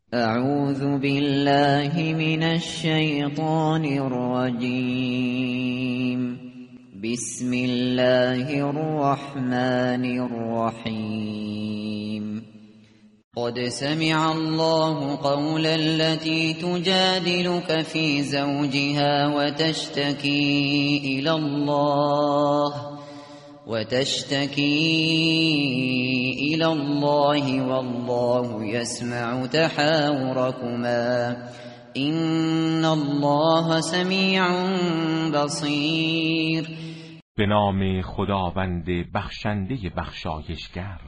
اعوذ بالله من الشیطان الرجیم. بسم الله الرحمن الرحیم. قد سمع الله قول التي تجادلك في زوجها وتشتكي إلى الله والله يسمع تحاوركما إن الله سمیع بصیر. به نام خداوند بخشنده بخشایشگر.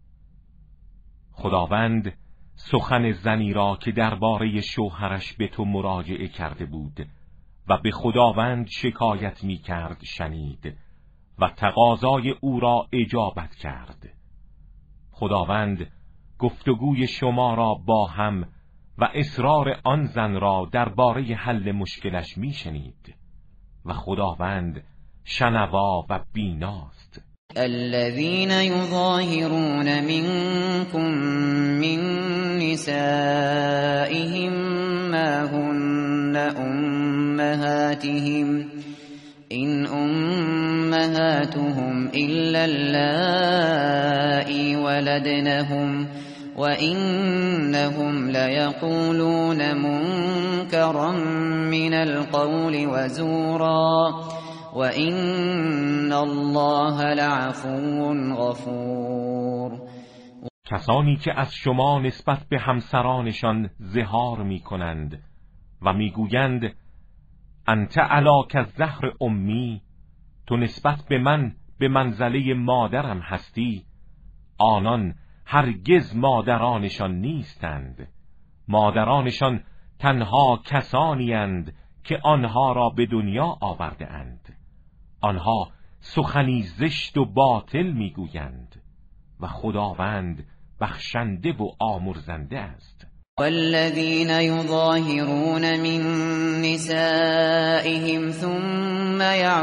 خداوند سخن زنی را که درباره شوهرش به تو مراجعه کرده بود و به خداوند شکایت می کرد شنید و تقاضای او را اجابت کرد. خداوند گفتگوی شما را با هم و اصرار آن زن را درباره حل مشکلش می شنید و خداوند شنوا و بیناست. الذين يظاهرون منكم من نسائهم ما هن أمهاتهم إن أمهاتهم إلا اللائي ولدنهم وإنهم ليقولون منكرا من القول وزورا وَإِنَّ اللَّهَ لَعَفُوٌّ غَفُورٌ. کسانی که از شما نسبت به همسرانشان ظهار می کنند و می گویند انت علی کالزهر امی، تو نسبت به من به منزله مادرم هستی، آنان هرگز مادرانشان نیستند. مادرانشان تنها کسانی اند که آنها را به دنیا آورده اند. آنها سخنی زشت و باطل میگویند و خداوند بخشنده و آمرزنده است. والذین یظاهرون من نسائهم ثم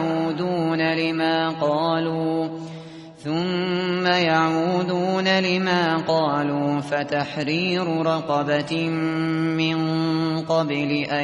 يعودون لما قالوا فتحرير رقبة من قبل أن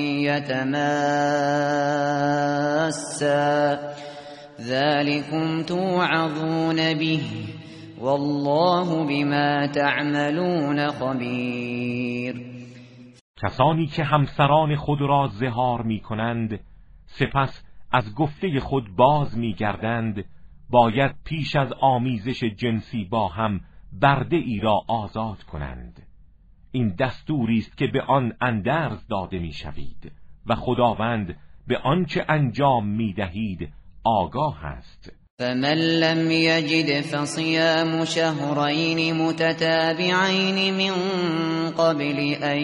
يتماسا ذلكم توعظون به والله بما تعملون خبیر. کسانی که همسران خود را ظهار می کنند سپس از گفته خود باز می گردند باید پیش از آمیزش جنسی با هم برده ای را آزاد کنند. این دستوری است که به آن اندرز داده می شوید و خداوند به آنچه انجام می دهید آگاه است. فمن لم یجد فصیام شهرین متتابعین من قبل ان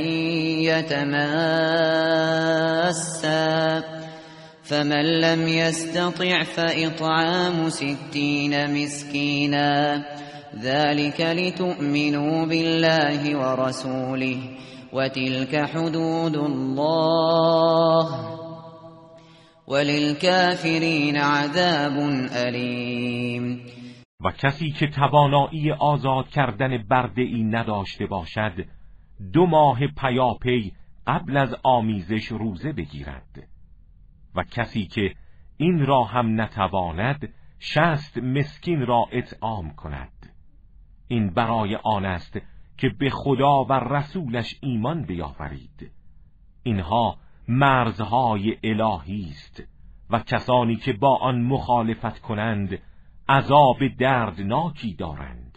یتماسا فمن لم يستطع فإطعام 60 مسكينا ذلك لتؤمنوا بالله ورسوله وتلك حدود الله وللكافرين عذاب أليم. و کسی که توانایی آزاد کردن برده ای نداشته باشد 2 ماه پیاپی قبل از آمیزش روزه بگیرد و کسی که این را هم نتواند 60 مسکین را اطعام کند. این برای آن است که به خدا و رسولش ایمان بیاورید. اینها مرزهای الهی است و کسانی که با آن مخالفت کنند عذاب دردناکی دارند.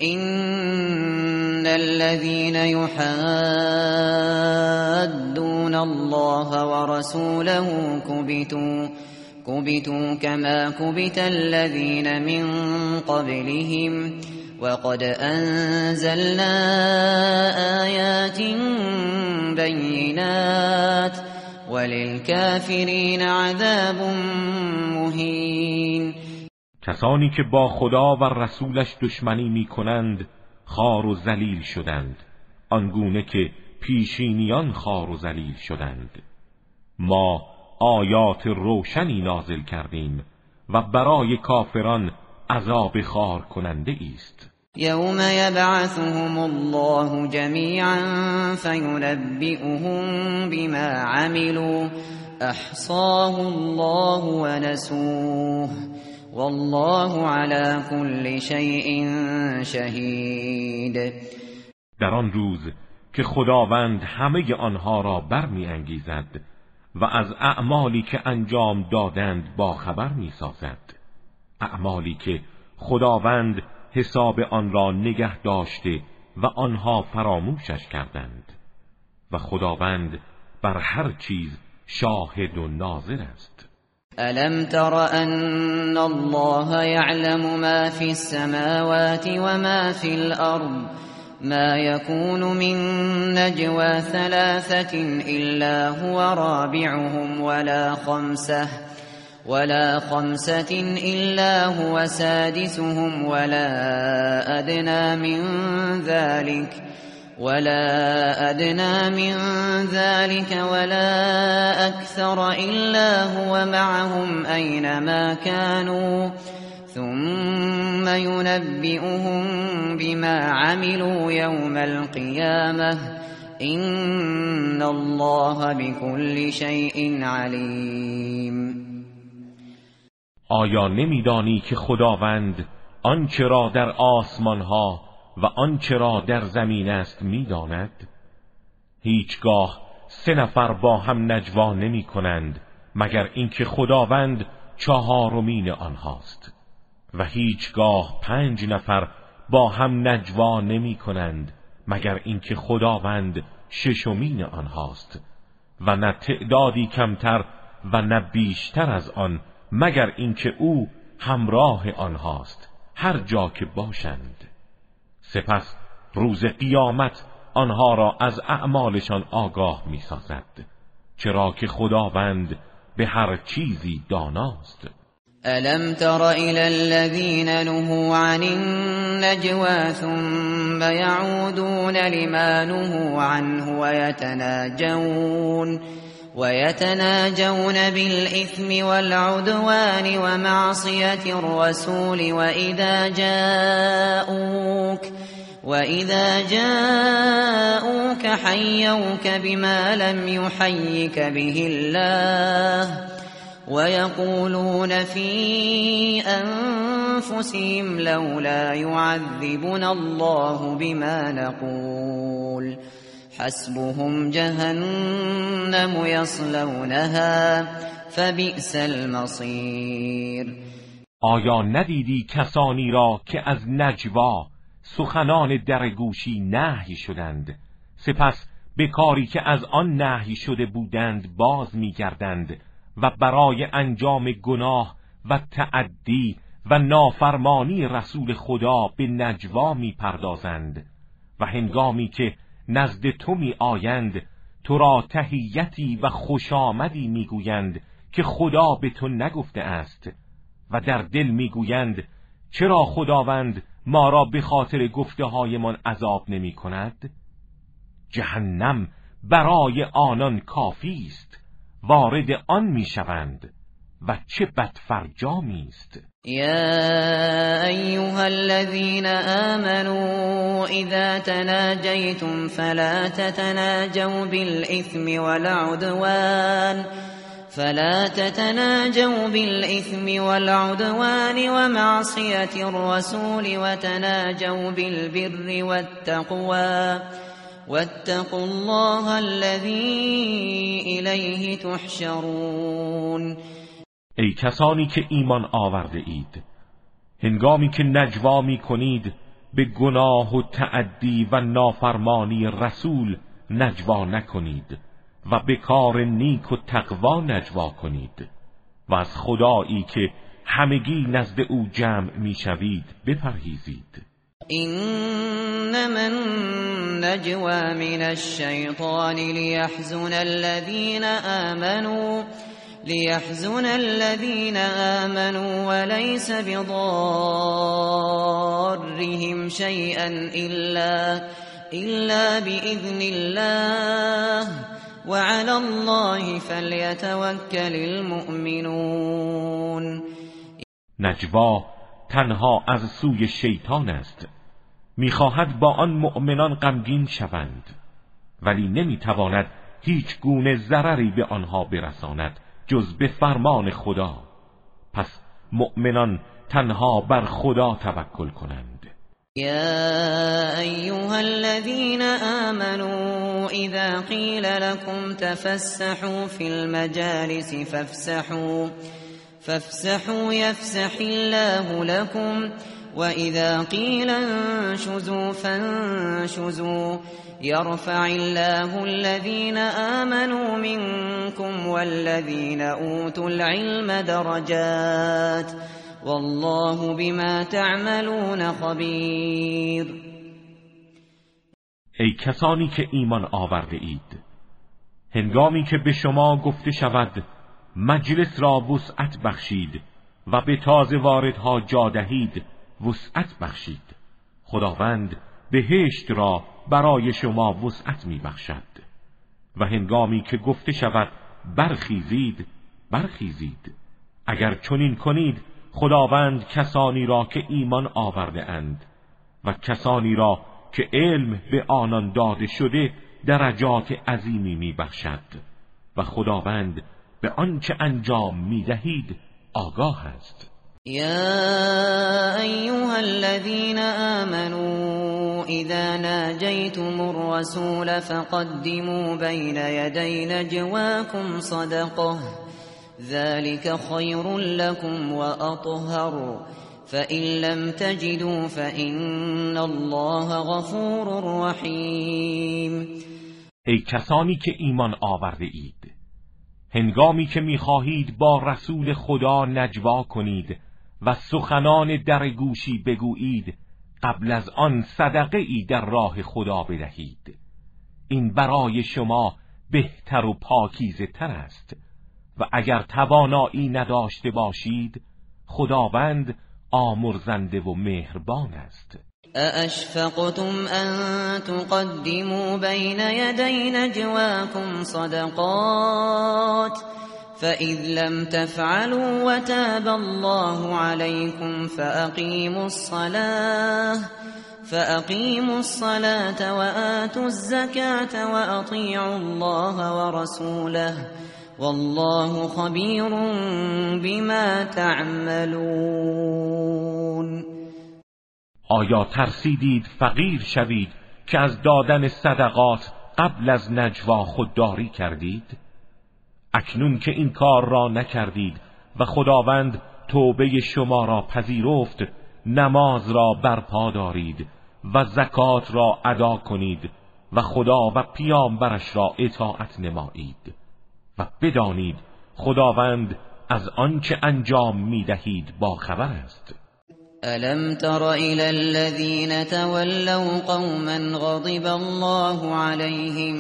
إن الذين يحادون الله ورسوله كبتوا كما كبت الذين من قبلهم وقد أنزلنا آيات بينات وللكافرين عذاب مهين. کسانی که با خدا و رسولش دشمنی می کنند خوار و ذلیل شدند آنگونه که پیشینیان خوار و ذلیل شدند. ما آیات روشنی نازل کردیم و برای کافران عذاب خار کننده است. یوم یبعثهم الله جمیعا فینبئهم بما عملوا احصاه الله ونسوه والله على كل شیء شهید. در آن روز که خداوند همه آنها را برمی‌انگیزد و از اعمالی که انجام دادند باخبر می‌سازد، اعمالی که خداوند حساب آن را نگه داشته و آنها فراموشش کردند و خداوند بر هر چیز شاهد و ناظر است. الم تر ان الله یعلم ما فی السماوات و ما فی الارض ما يكون من نجوى ثلاثة إلا هو رابعهم ولا خمسة إلا هو سادسهم ولا أدنى من ذلك ولا أكثر إلا هو معهم أينما كانوا ثم ينبئهم بما عملوا يوم القيامة إن الله بكل شيء عليم. آیا نمیدانی که خداوند آنچه را در آسمانها و آنچه را در زمین است میداند؟ هیچگاه 3 نفر با هم نجوا نمی کنند مگر اینکه خداوند 4مین آنهاست و هیچگاه 5 نفر با هم نجوا نمی کنند مگر اینکه خداوند 6مین آنهاست و نه تعدادی کمتر و نه بیشتر از آن مگر اینکه او همراه آنهاست هر جا که باشند. سپس روز قیامت آنها را از اعمالشان آگاه می سازد، چرا که خداوند به هر چیزی داناست. الم تر إلى الذين نهوا عن النجوى ثم يعودون لما نهوا عنه ويتناجون بالإثم والعدوان ومعصية الرسول وإذا جاءوك حيوك بما لم يحيك به الله ويقولون في أنفسهم لولا يعذبنا الله بما نقول حسبهم جهنم يصلونها فبئس المصير. آیا ندیدی کسانی را که از نجوا سخنان درگوشی نهی شدند سپس به کاری که از آن نهی شده بودند باز می‌گردند و برای انجام گناه و تعدی و نافرمانی رسول خدا به نجوا می‌پردازند و هنگامی که نزد تو می آیند تو را تحیتی و خوش آمدی می گویند که خدا به تو نگفته است و در دل می گویند چرا خداوند ما را به خاطر گفته هایمان عذاب نمی کند؟ جهنم برای آنان کافی است، وارد آن می شوند و چه بدفرجامی است. يا أيها الذين آمنوا إذا تناجيتم فلا تتناجوا بالإثم والعدوان ومعصية الرسول وتناجوا بالبر والتقوى واتقوا الله الذي إليه تحشرون. ای کسانی که ایمان آورده اید، هنگامی که نجوا می کنید به گناه و تعدی و نافرمانی رسول نجوا نکنید و به کار نیک و تقوا نجوا کنید و از خدایی که همگی نزد او جمع می شوید بپرهیزید. إنما النجوى من الشيطان ليحزن الذين آمنوا وليس بضارهم شيئا إلا بإذن الله وعلى الله فليتوكل المؤمنون. نجوا تنها از سوی شیطان است می‌خواهد با آن مؤمنان غمگین شوند، ولی نمی‌تواند هیچ گونه ضرری به آنها برساند جز به فرمان خدا. پس مؤمنان تنها بر خدا توکل کنند. يا أيها الذين آمنوا إذا قيل لكم تفسحوا في المجالس فافسحوا يفسح الله لكم وإذا قيل انشزوا فانشزوا يرفع الله الذين آمنوا منكم والذين أوتوا العلم درجات والله بما تعملون خبیر. ای کسانی که ایمان آورده اید، هنگامی که به شما گفته شود مجلس را وسعت بخشید و به تازه واردها جا دهید وسعت بخشید. خداوند بهشت را برای شما وسعت می بخشد. و هنگامی که گفته شود برخیزید برخیزید. اگر چنین کنید خداوند کسانی را که ایمان آورده اند و کسانی را که علم به آنان داده شده درجات عظیمی می بخشد و خداوند به آنچه انجام می دهید آگاه است. يا أيها الذين آمنوا إذا ناجيتم الرسول فقدموا بين يدي نجواكم صدقة ذلك خير لكم وأطهر فإن لم تجدوا فإن الله غفور رحيم. ای کسانی که ایمان آورده اید، هنگامی که می‌خواهید با رسول خدا نجوا کنید و سخنان در گوشی بگویید، قبل از آن صدقه ای در راه خدا بدهید. این برای شما بهتر و پاکیزه تر است. و اگر توانایی نداشته باشید خداوند آمرزنده و مهربان است. أأشفقتم أن تقدموا بين يدي نجواكم صدقات فإذ لم تفعلوا وتاب الله عليكم فأقيموا الصلاة وآتوا الزكاة وأطيعوا الله ورسوله والله خبیر بما تعملون. آیا ترسیدید فقیر شوید که از دادن صدقات قبل از نجوا خودداری کردید؟ اکنون که این کار را نکردید و خداوند توبه شما را پذیرفت، نماز را برپا دارید و زکات را ادا کنید و خدا و پیامبرش را اطاعت نمایید و بدانید خداوند از آنچه انجام می‌دهید با خبر است. ألم تر إلى الذين تولوا قوما غضب الله عليهم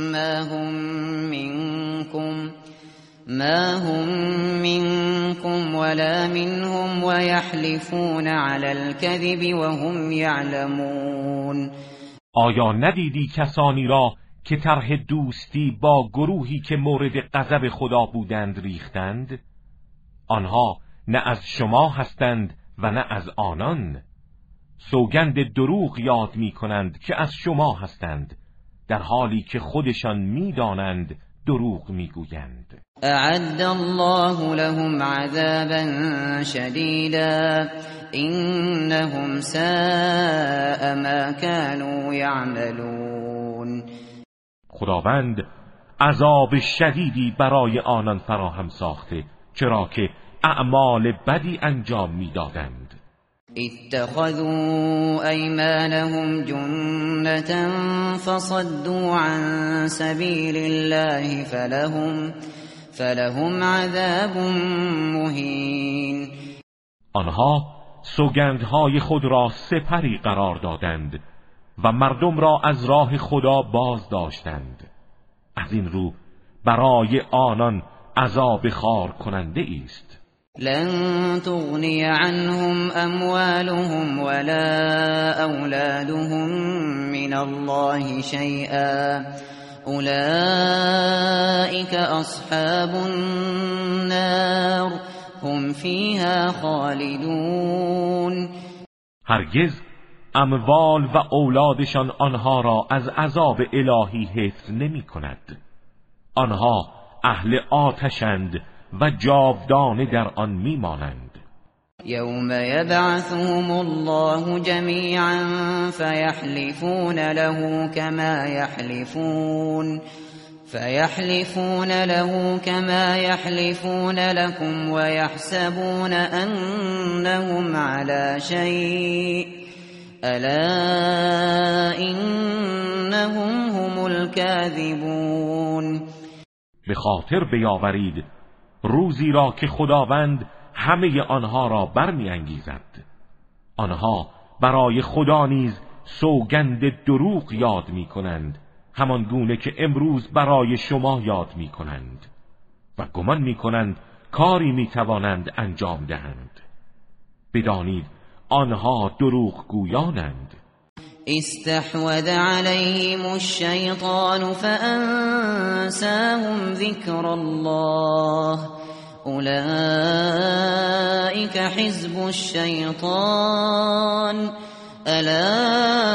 ما هم منكم ولا منهم ويحلفون على الكذب وهم يعلمون. آیا ندیدی کسانی را که طرح دوستی با گروهی که مورد غضب خدا بودند ریختند؟ آنها نه از شما هستند و نه از آنان. سوگند دروغ یاد می کنند که از شما هستند، در حالی که خودشان می دانند دروغ می گویند. اعد الله لهم عذابا شدیدا انهم ساء ما كانوا یعملون. خداوند عذاب شدیدی برای آنان فراهم ساخته، چرا که اعمال بدی انجام میدادند. اتخذوا ایمانهم جنة فصدوا عن سبیل الله فلهم عذاب مهین. آنها سوگندهای خود را سپری قرار دادند و مردم را از راه خدا باز داشتند. از این رو برای آنان عذاب خار کننده است. لن تغنی عنهم اموالهم ولا اولادهم من الله شیئا اولئک اصحاب النار هم فیها خالدون. هرگز اموال و اولادشان آنها را از عذاب الهی حفظ نمی کند. آنها اهل آتشند و جاودانه در آن می مانند. یوم یبعثهم الله جمیعا فیحلفون له كما يحلفون لكم ويحسبون أنهم على شيء ألا إنهم هم الكاذبون. به خاطر بیاورید روزی را که خداوند همه آنها را برمی انگیزد. آنها برای خدا نیز سوگند دروغ یاد می کنند، همان گونه که امروز برای شما یاد می کنند و گمان می کنند کاری می توانند انجام دهند. بدانید آنها دروغ گویانند. استحوذ عليهم الشيطان فأنساهم ذكر الله أولئك حزب الشيطان ألا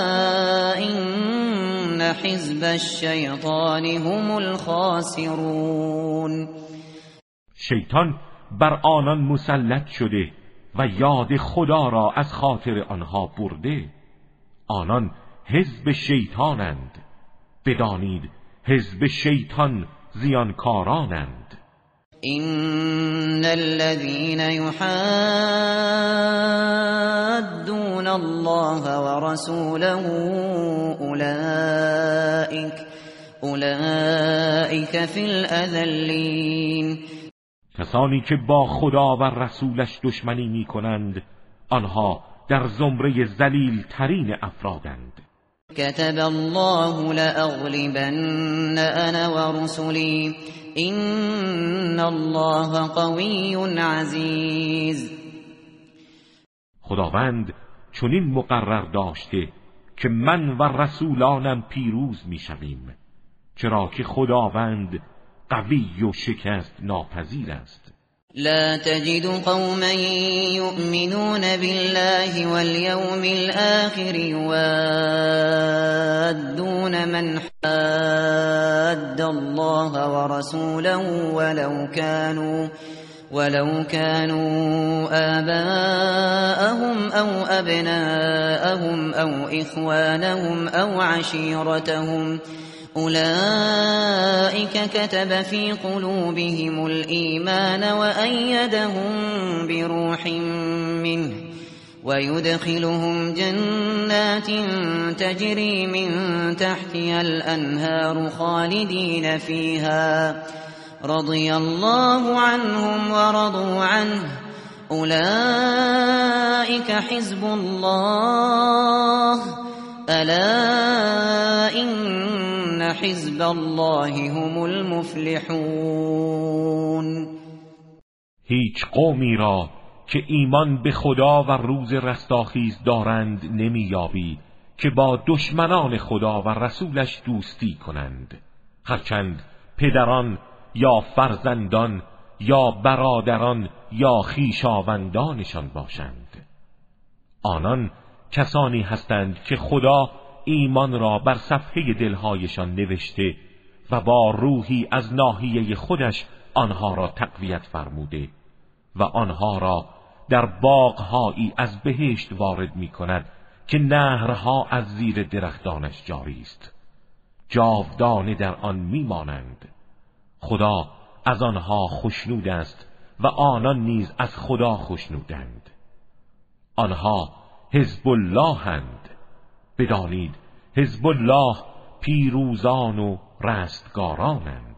إن حزب الشيطان هم الخاسرون. شیطان بر آنان مسلط شده و یاد خدا را از خاطر آنها برده. آنان حزب شیطانند. بدانید حزب شیطان زیانکارانند. إن الذين يحادون الله ورسوله أولئك في الأذلين. کسانی که با خدا و رسولش دشمنی می کنند آنها در زمره ذلیل ترین افرادند. كتب الله لأغلبن أنا ورسلي إن الله قوي عزيز. خداوند چنین مقرر داشته که من و رسولانم پیروز می شویم، چرا که خداوند قوی و شکست ناپذیر است. لا تجد قوما يؤمنون بالله واليوم الآخر يوادون من حاد الله ورسوله ولو كانوا آباءهم أو أبناءهم أو إخوانهم أو عشيرتهم أولئك كتب في قلوبهم الإيمان وأيدهم بروح منه ويدخلهم جنات تجري من تحتها الأنهار خالدين فيها رضي الله عنهم ورضوا عنه أولئك حزب الله ألا إن حزب الله هم المفلحون. هیچ قومی را که ایمان به خدا و روز رستاخیز دارند نمی‌یابی که با دشمنان خدا و رسولش دوستی کنند، هرچند پدران یا فرزندان یا برادران یا خویشاوندانشان باشند. آنان کسانی هستند که خدا ایمان را بر صفحه دلهایشان نوشته و با روحی از ناحیه خودش آنها را تقویت فرموده و آنها را در باغهایی از بهشت وارد می کند که نهرها از زیر درختانش جاری است، جاودانه در آن می مانند. خدا از آنها خوشنود است و آنان نیز از خدا خوشنودند. آنها حزب الله اند. بدانید حزب الله پیروزان و رستگارانند.